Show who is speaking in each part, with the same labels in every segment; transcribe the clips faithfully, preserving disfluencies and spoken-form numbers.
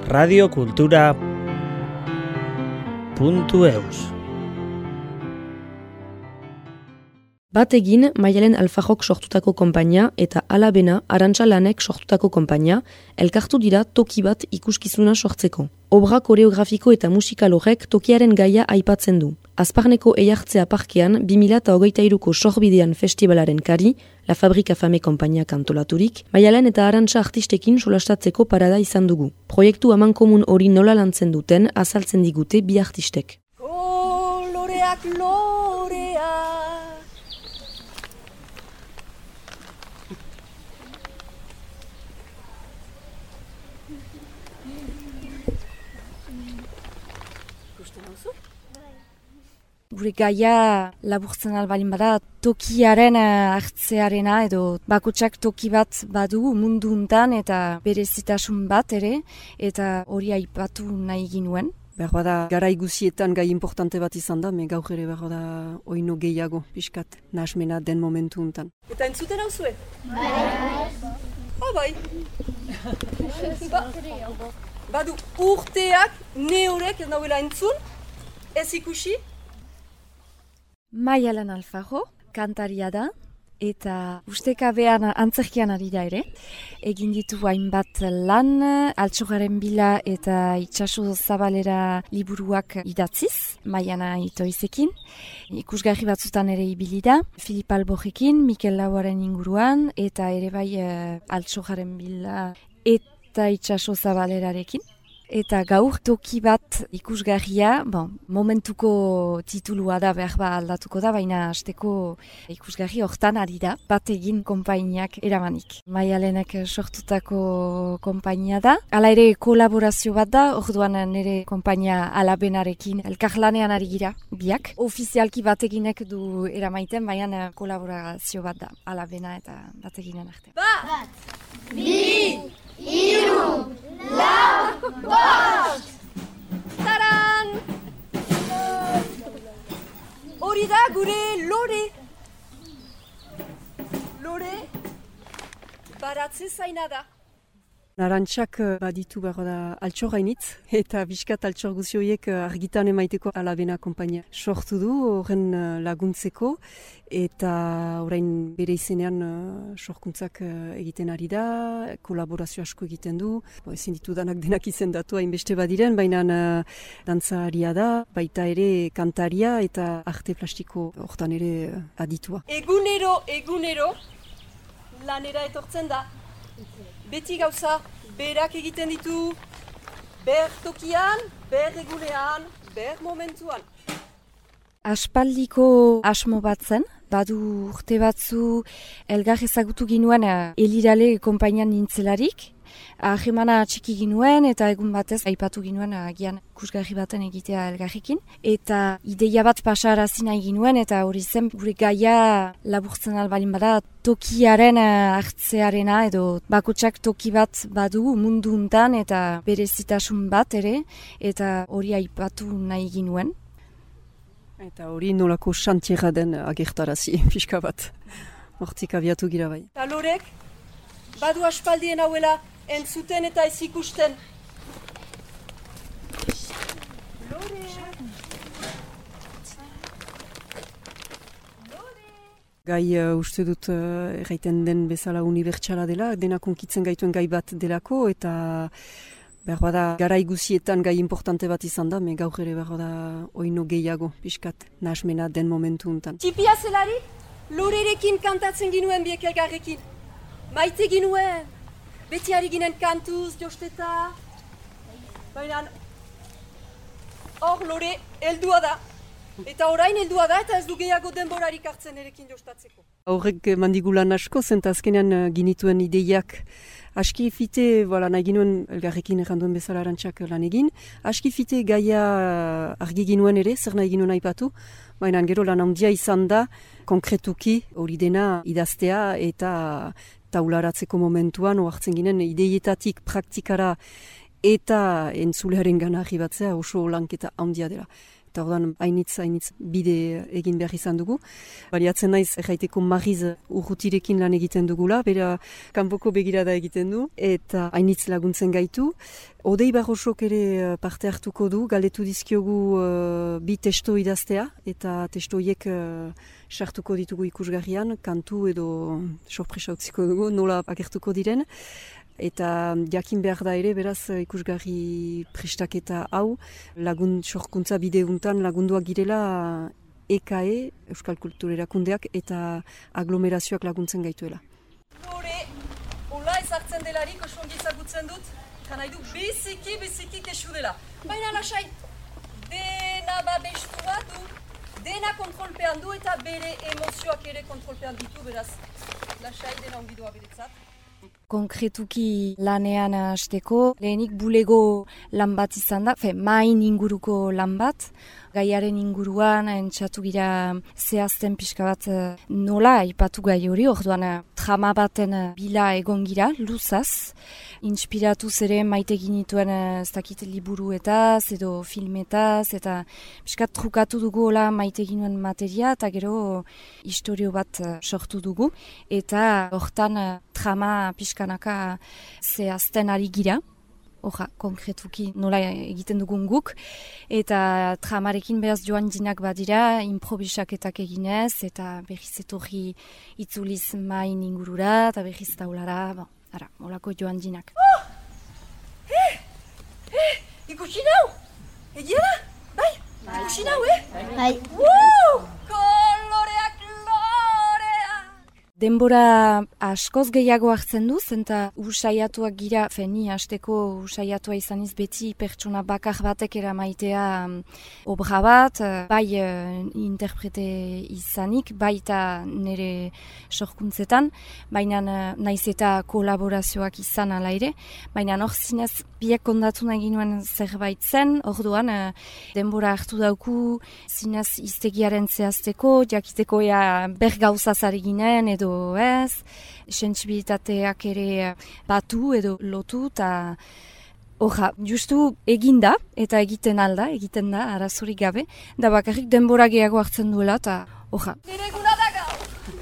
Speaker 1: radiokultura puntu eus.
Speaker 2: Bategin Maialen Alfajok sortutako konpainia eta Alabena Arantxa Lanek sortutako konpainia elkartu dira toki bat ikuskizuna sortzeko. Obra koreografiko eta musikal horrek tokiaren gaia aipatzen du. Azparneko Eiartzea parkean bi mila hogeita hiruko sorbidean festivalaren kari, La Fabrika Fame konpainiak antolaturik, Maialen eta Arantxa artistekin solastatzeko parada izan dugu. Proiektu amankomun hori nola lantzen duten azaltzen digute bi artistek.
Speaker 3: Oh, loreak, loreak!
Speaker 4: Gure gaia laburtzen albalin bada tokiaren hartzearena edo bakotsak toki bat badu mundu untan eta berezitasun bat ere eta hori aipatu nahi ginuen.
Speaker 3: Behar bada garai guzietan gai importante bat izan da, me gaur ere behar bada oino gehiago pixkat nahasmena den momentu untan. Eta entzuten hau zue? Bai! Ah, bai! ba, badu urteak neurek ez nauela entzun, ez ikusi?
Speaker 4: Maialen Alfajo, kantaria da, eta ustekabean antzerkian ari da ere. Egin ditu hainbat lan, Altxorraren bila eta Itxaso Zabalera liburuak idatziz, Maiana Itoizekin. Ikusgarri batzutan ere ibili da, Filip Albojekin, Mikel Lauaren inguruan, eta ere bai Altxorraren bila eta Itxaso Zabalerarekin. Eta gaur toki bat ikusgarria, bon, momentuko titulua da behar ba aldatuko da, baina hasteko ikusgarri hortan ari da, Bategin konpainiak eramanik. Maialenek sortutako konpainia da. Hala ere kolaborazio bat da, orduan nire konpainia Alabenarekin elkarlanean ari gira, biak. Ofizialki Bateginek du eramaiten, baina kolaborazio bat da, Alabena eta Bateginen arte.
Speaker 5: Bat! Bi! Iru! Lau! Bost!
Speaker 3: Taran! Hori da gure lore! Lore baratze zaina da. Arantxak baditu behar da altxor hainitz, eta biskat altxor guzioiek argitan emaiteko Alabena konpainia sortu du, horren laguntzeko, eta orain bere izenean sorkuntzak egiten ari da, kolaborazio asko egiten du, bo, ezin ditu danak denak izendatu hainbeste badiren, baina dantzaria da, baita ere kantaria eta arte plastiko hortan ere aditua. Egunero, egunero, lanera etortzen da. Beti gauza, berak egiten ditu, ber tokian, ber egunean, ber momentuan.
Speaker 4: Aspaldiko asmo bat zen, badu urte batzu elgar ezagutu ginuen Elirale konpainian nintzelarik. Ahemana txiki ginuen eta egun batez aipatu ginuen agian ikusgarri baten egitea elgarrekin. Eta ideia bat pasarazi nahi ginuen eta hori zen gure gaia laburtzen albalin bada tokiaren hartzearena edo bakotsak toki bat badu mundu untan eta berezitasun bat ere eta hori aipatu nahi ginuen.
Speaker 3: Eta hori nolako xantierra den agertarazi, pixka bat. Hortik abiatu gira bai. Eta lorek, badu aspaldien hauela entzuten eta ez ikusten. Gai uh, uste dut uh, erraiten den bezala unibertsala dela, dena konkitzen gaituen gai bat delako, eta behar bada garai guzietan gai importante bat izan da, me gaur ere behar bada oino gehiago, pixkat, nahasmena den momentu untan. Tipia zelari, lorerekin kantatzen ginuen biek elgarrekin. Maite ginuen, beti ari ginen kantuz, josteta. Baina hor lore heldua da. Eta orain heldua da eta ez du gehiago denborarik hartzen erekin jostatzeko. Horrek mandigulan asko, zenta azkenean ginituen ideiak aski fite, voilà, nahi ginuen elgarrekin erranduen bezala Arantxak lan egin. Aski fite gaia argi ginuen ere, zer nahi ginuen aipatu. Baina gero lan handia izan da, konkretuki hori dena idaztea eta taularatzeko momentuan, oartzen ginen ideietatik praktikara eta entzulearen gana arribatzea oso lanketa handia dela. Eta orduan hainitz, hainitz bide egin behar izan dugu. Baliatzen naiz, erraiteko Mariz urrutirekin lan egiten dugula, bera kanpoko begirada egiten du, eta hainitz laguntzen gaitu. Odei Barrosok ere parte hartuko du, galdetu dizkiogu uh, bi testo idaztea, eta testoiek uh, sartuko ditugu ikusgarrian, kantu edo sorpresa utziko dugu, nola agertuko diren. Eta jakin behar da ere, beraz ikusgarri prestaketa hau, lagun sorkuntza bideuntan lagunduak girela E K E, Euskal Kultur Erakundeak, eta aglomerazioak laguntzen gaituela.
Speaker 1: Lore, hola ezartzen delarik osongi ezagutzen dut, nahi du biziki, biziki kesu dela. Baina lasai, dena babestua du, dena kontrolpean du eta bere emozioak ere kontrolpean ditu, beraz, lasai dena ongidoa beretzat.
Speaker 4: Konkretuki lanean hasteko, lehenik bulego lan bat izan da, fe, main inguruko lan bat, gaiaren inguruan entzatu gira zehazten pixka bat nola aipatu gai hori, orduan trama baten bila egon gira, luzaz, inspiratuz ere maite ginituen ez dakit liburuetaz edo filmetaz, eta pixka trukatu dugu hola maite ginuen materia, eta gero historio bat sortu dugu, eta hortan trama pixkanaka zehazten ari gira. Oja, konkretuki nola egiten dugun guk, eta tramarekin beraz joan dinak badira, improvisaketak eginez, eta berriz etorri itzuliz main ingurura, eta berriz taulara, bon, ara, molako joan dinak.
Speaker 1: Oh! Eh! Eh! Ikusi nau! Egia da? Bai? Ikusi nau, eh?
Speaker 5: Bai.
Speaker 1: Wow! Koloreak, loreak!
Speaker 4: Denbora askoz gehiago hartzen du, zenta usaiatuak gira, feni hasteko usaiatua izaniz beti pertsona bakar batek eramaitea um, obra bat, bai uh, interprete izanik, baita nire sorkuntzetan, baina uh, naiz eta kolaborazioak izan ala ere, baina hor zinez biek kondatu nahi ginuen zerbait zen, orduan uh, denbora hartu dauku zinez iztegiaren zehazteko, jakiteko ea ber gauzazari ginen edo ez, sentsibilitateak ere batu edo lotu, eta oja, justu eginda, eta egiten alda, egiten da, arazorik gabe, da bakarrik denbora gehiago hartzen duela, eta oja.
Speaker 1: Nire guna da gau!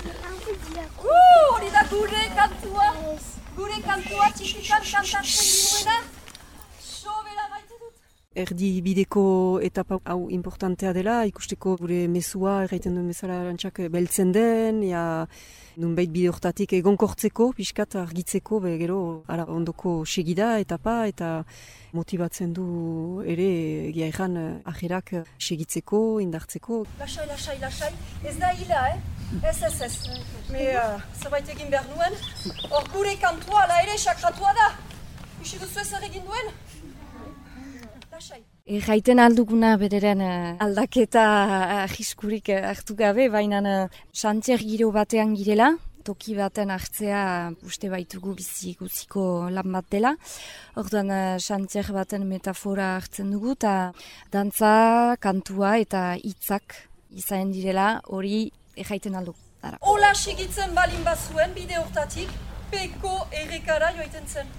Speaker 1: Uh, hori da gure kantua, gure kantua txikikan kantatzen dinuena, sobera baite dut.
Speaker 3: Erdi bideko etapa hau importantea dela, ikusteko gure mezua, erraiten duen bezala arantxak beltzen den, ja, nunbait bide hortatik egonkortzeko, pixkat argitzeko, be, gero ara, ondoko segida etapa, eta motibatzen du ere egia erran ajerak segitzeko, indartzeko.
Speaker 1: Lasai, lasai, lasai, ez da hila, eh? Ez, ez, ez. Me, uh, zerbait egin behar nuen, hor gure kantua ala ere sakratua da. Isi duzu ez egin duen? Lasai.
Speaker 4: Erraiten alduguna bederen aldaketa jiskurik hartu gabe, baina xantier giro batean girela, toki baten hartzea uste baitugu bizi guziko lan bat dela. Orduan xantier baten metafora hartzen dugu, eta dantza, kantua eta hitzak izan direla, hori erraiten aldu. Ara.
Speaker 1: Ola segitzen balin bazuen bide hortatik, peko errekara joaiten zen.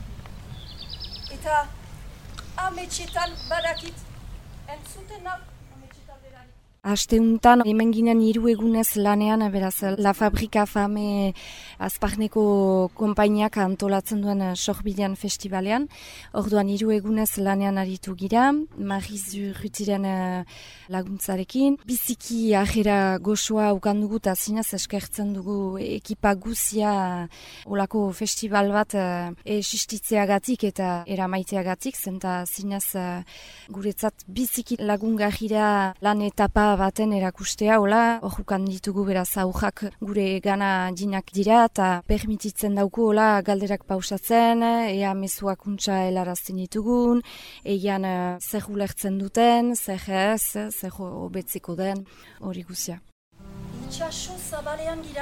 Speaker 1: Eta ametxetan badakit, entzuten nau ametxetan delarik.
Speaker 4: Asteuntan, hemen ginen hiru egunez lanean, beraz, La Fabrika Fame Azparneko konpainiak antolatzen duen Sorbidean festivalean. Orduan hiru egunez lanean aritu gira, Mariz Urrutiren laguntzarekin. Biziki ajera goxoa ukandugu eta zinez eskertzen dugu ekipa guzia olako festival bat existitzeagatik eta eramaiteagatik, zenta zinez guretzat biziki lagungarria lan etapa baten erakustea, hola, horrukan ditugu beraz aurrak gure gana dinak dira, eta permititzen dauku, hola, galderak pausatzen, ea mezuak untsa helarazten ditugun, eian uh, zer ulertzen duten, zer ez, zer hobetzeko den, hori guzia.
Speaker 1: Itxaso zabalean gira,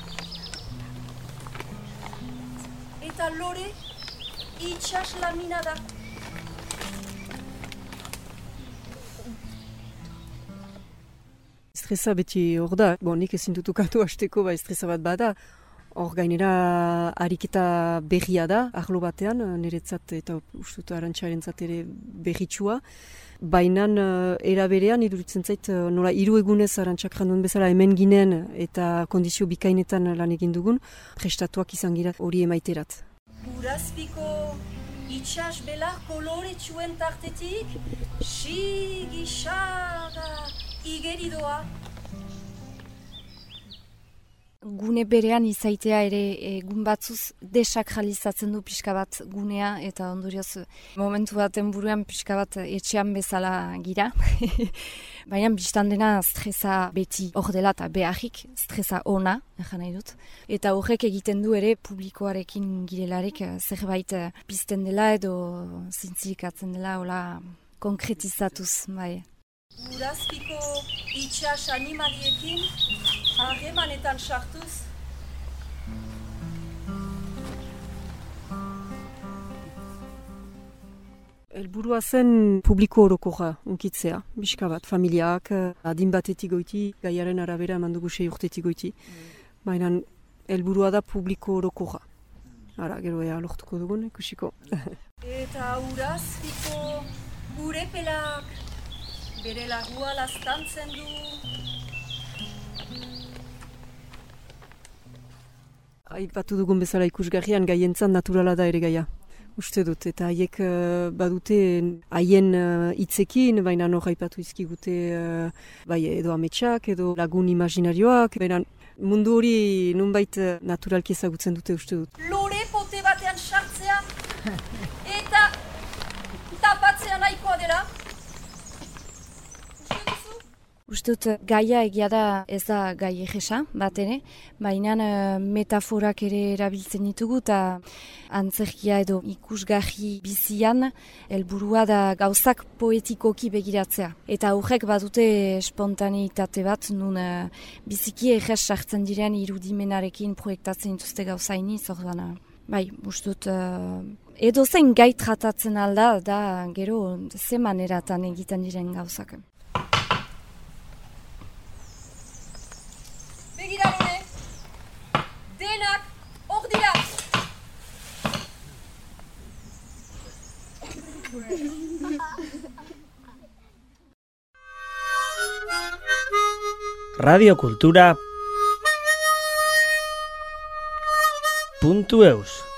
Speaker 1: eta lore itxas lamina da.
Speaker 3: Estresa beti hor da, bon, nik ezin dutukatu hasteko, ba estresa bat bada, Hor gainera ariketa berria da, arlo batean, niretzat eta ustut Arantxarentzat ere berritsua. Baina uh, era berean iduritzen zait uh, nola hiru egunez Arantxak jandun bezala hemen ginen eta kondizio bikainetan lan egin dugun, prestatuak izan gira hori emaiterat.
Speaker 1: Urazpiko itxas belar koloretsuen tartetik, sigi xaga igeridoa.
Speaker 4: Gune berean izaitea ere egun batzuz desakralizatzen du pixka bat gunea eta ondorioz momentu baten buruan pixka bat etxean bezala gira. Baina biztan dena stresa beti hor dela eta beharrik stresa ona, egan nahi dut. Eta horrek egiten du ere publikoarekin girelarek zerbait pizten dela edo zintzilikatzen dela hola konkretizatuz, bai.
Speaker 1: Urazpiko itxas animaliekin harremanetan sartuz.
Speaker 3: Helburua zen publiko orokorra unkitzea, bizka bat, familiak, adin batetik goiti, gaiaren arabera eman dugu sei urtetik goiti. Baina helburua da publiko orokorra. Ara, gero ea lortuko dugun, ikusiko.
Speaker 1: Eta Urazpiko urepelak bere lagua laztantzen du.
Speaker 3: Aipatu dugun bezala ikusgarrian gaientzan naturala da ere gaia. Uste dut, eta haiek uh, badute haien hitzekin, uh, baina hor aipatu izkigute uh, bai edo ametsak, edo lagun imaginarioak, baina mundu hori nunbait uh, naturalki ezagutzen dute uste dut.
Speaker 1: Lore pote batean sartzea eta tapatzea nahikoa dela.
Speaker 4: Uste dut gaia egia da ez da gai egesa bat ere, baina uh, metaforak ere erabiltzen ditugu eta antzerkia edo ikusgarri bizian helburua da gauzak poetikoki begiratzea. Eta horrek badute espontaneitate bat, nun uh, biziki eges sartzen diren irudimenarekin proiektatzen dituzte gauzaini, zorduan. Bai, uste dut uh, edo zein gai tratatzen alda da gero ze maneratan egiten diren gauzak.
Speaker 1: Begira nire, denak hor dira.
Speaker 6: Radio Kultura puntu eus